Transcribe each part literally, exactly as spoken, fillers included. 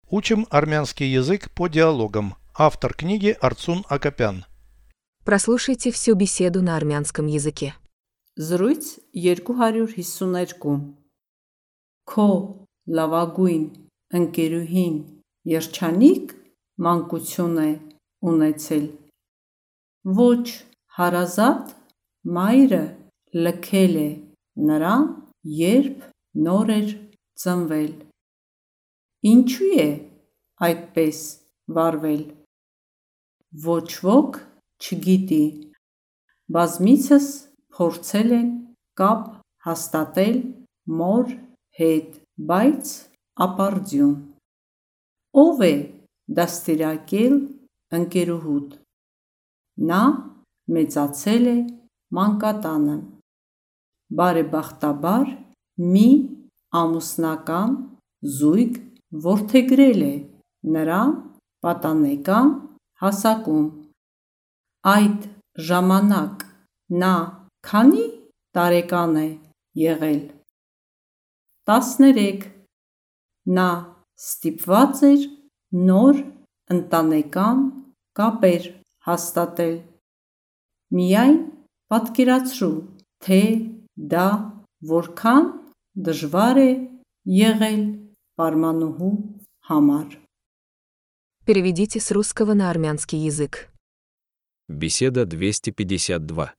Учим армянский язык по диалогам. Автор книги Арцун Акопян. Прослушайте всю беседу на армянском языке. Զրույց երկու հարյուր հիսուներկու Քո լավագույն ընկերուհին երջանիկ մանկություն է ունեցել։ Ոչ հարազատ մայրը լքել է նրան, երբ նոր էր ծնվել։ Ինչու է այդպես վարվել։ Ոչ ոք չգիտի։ Բազմիցս փորձել են կապ հաստատել մոր հետ, բայց ապարդյուն։ Ով է դաստիարակել ընկերուհուդ։ Նա մեծացել է մանկատանը։ Բարեբախտաբար մի ամուսնական զույգ որդեգրել է նրան պատանեկան հասակում։ Այդ ժամանակ նա քանի տարեկան է եղել։ տասներեք Նա ստիպված էր նոր ընտանեկան կապեր հաստատել։ Միայն պատկերացրու, թե դա որքան դժվար է եղել պարմանուհու համար։ Переведите с русского на армянский язык. Беседа двести пятьдесят два.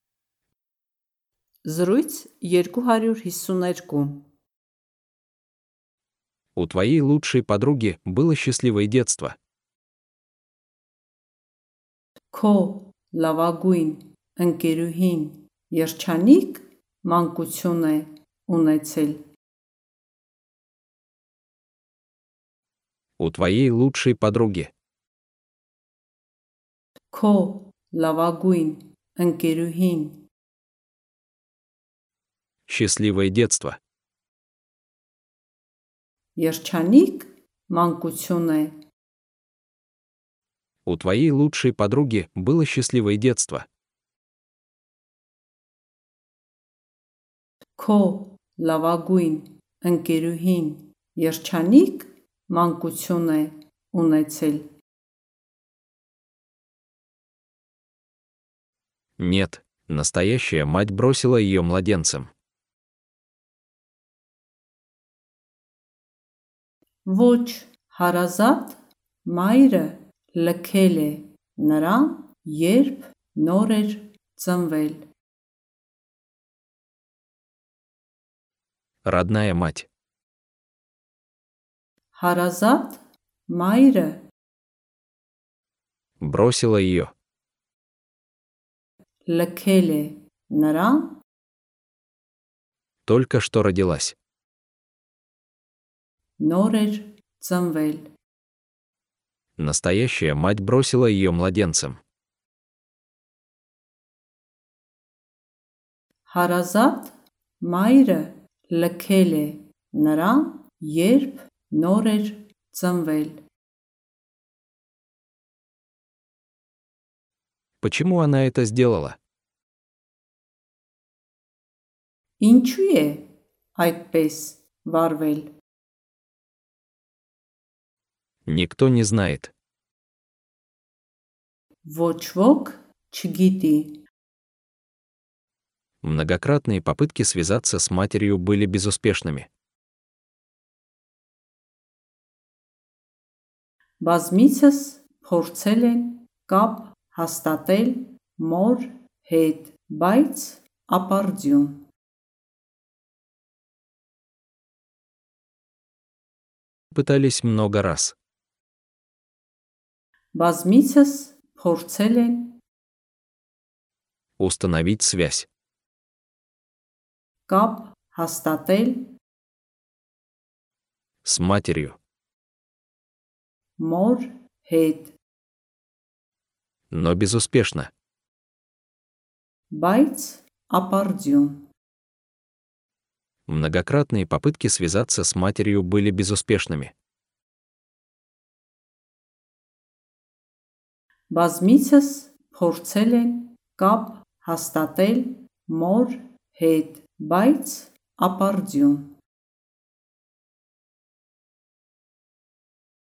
Զրույց երկու հարյուր հիսուներկու У твоей лучшей подруги было счастливое детство. Քո լավագույն ընկերուհին երջանիկ մանկություն է ունեցել։ У твоей лучшей подруги Քո լավագույն ընկերուհին счастливое детство. երջանիկ մանկություն է։ У твоей лучшей подруги было счастливое детство. Քո լավագույն ընկերուհին երջանիկ մանկություն է ունեցել։ Нет, настоящая мать бросила ее младенцем. Ոչ հարազատ մայրը լքել է նրան, երբ նոր էր ծնվել։ Родная мать. Հարազատ մայրը Бросила ее. լքել է նրան, Только что родилась. նոր էր ծնվել։ Настоящая мать бросила ее младенцем. Հարազատ մայրը լքել է նրան, երբ նոր էր ծնվել։ Почему она это сделала? Ինչու է այդպես վարվել։ Никто не знает. Ոչ ոք չգիտի։ Многократные попытки связаться с матерью были безуспешными. Բազմիցս փորձել են կապ հաստատել մոր հետ, բայց ապարդյուն։ Пытались много раз. Բազմիցս փորձել են Установить связь. կապ հաստատել С матерью. մոր հետ, Но безуспешно. բայց ապարդյուն։ Многократные попытки связаться с матерью были безуспешными. Բազմիցս փորձել են կապ հաստատել մոր հետ, բայց ապարդյուն։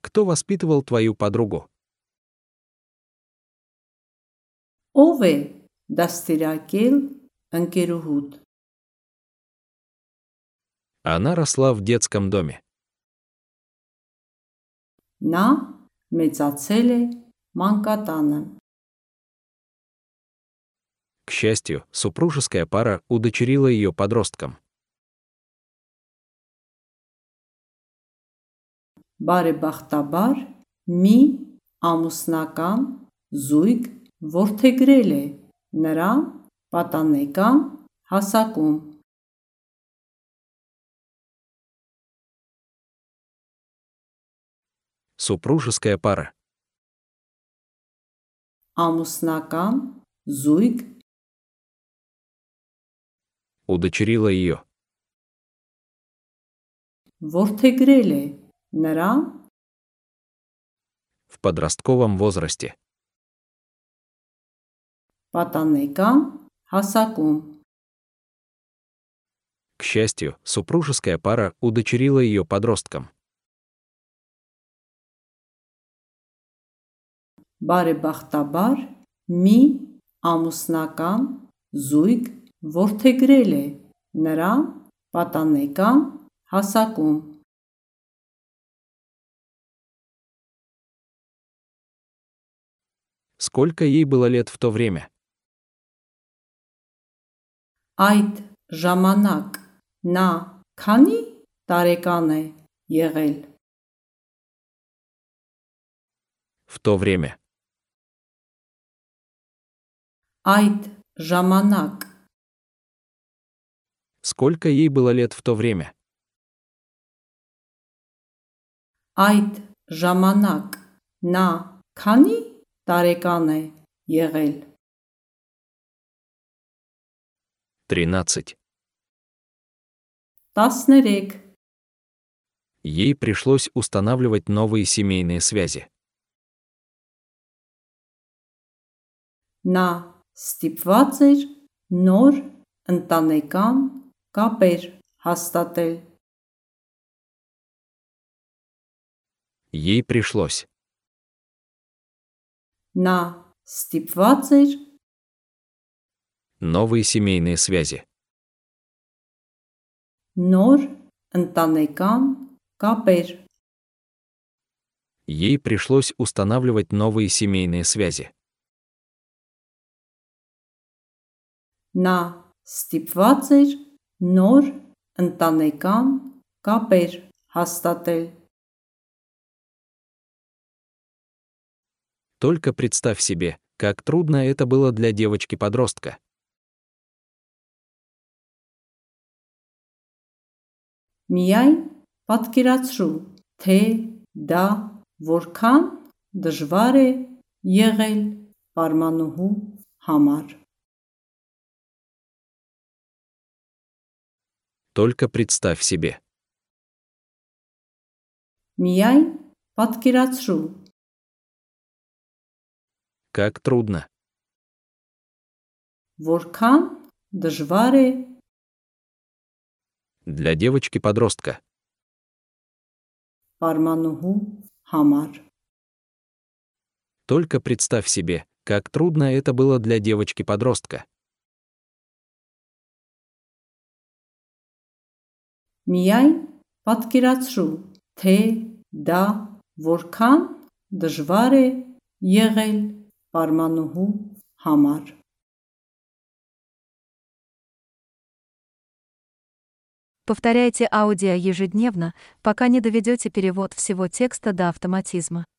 Кто воспитывал твою подругу? Ով է դաստիարակել ընկերուհուդ։ Она росла в детском доме. Նա մեծացել է մանկատանը։ К счастью, супружеская пара удочерила ее подростком. Բարեբախտաբար մի ամուսնական զույգ որդեգրել է նրան պատանեկան հասակում։ Супружеская пара. Ամուսնական զույգ Удочерила ее. որդեգրել է նրան В подростковом возрасте. պատանեկան հասակում։ К счастью, супружеская пара удочерила ее подростком. Բարեբախտաբար մի ամուսնական զույգ որդեգրել է նրան պատանեկան հասակում։ Сколько ей было лет в то время? Այդ ժամանակ նա քանի տարեկան է եղել։ В то время. Այդ ժամանակ Сколько ей было лет в то время? այդ ժամանակ նա քանի տարեկան է եղել։ тринадцать. տասներեք Ей пришлось устанавливать новые семейные связи. նա ստիպված էր նոր ընտանեկան կապեր հաստատել։ Ей пришлось. նա ստիպված էր Новые семейные связи. նոր ընտանեկան կապեր։ Ей пришлось устанавливать новые семейные связи. նա ստիպված էր նոր ընտանեկան կապեր հաստատել։ Только представь себе, как трудно это было для девочки-подростка. Միայն պատկերացրու, թե դա որքան դժվար է եղել պարմանուհու համար։ Только представь себе. Միայն պատկերացրու, Как трудно. որքան դժվար է Для девочки-подростка. պարմանուհու համար։ Только представь себе, как трудно это было для девочки-подростка. Միայն պատկերացրու, թե դա որքան դժվար է եղել պարմանուհու համար։ Повторяйте аудио ежедневно, пока не доведете перевод всего текста до автоматизма.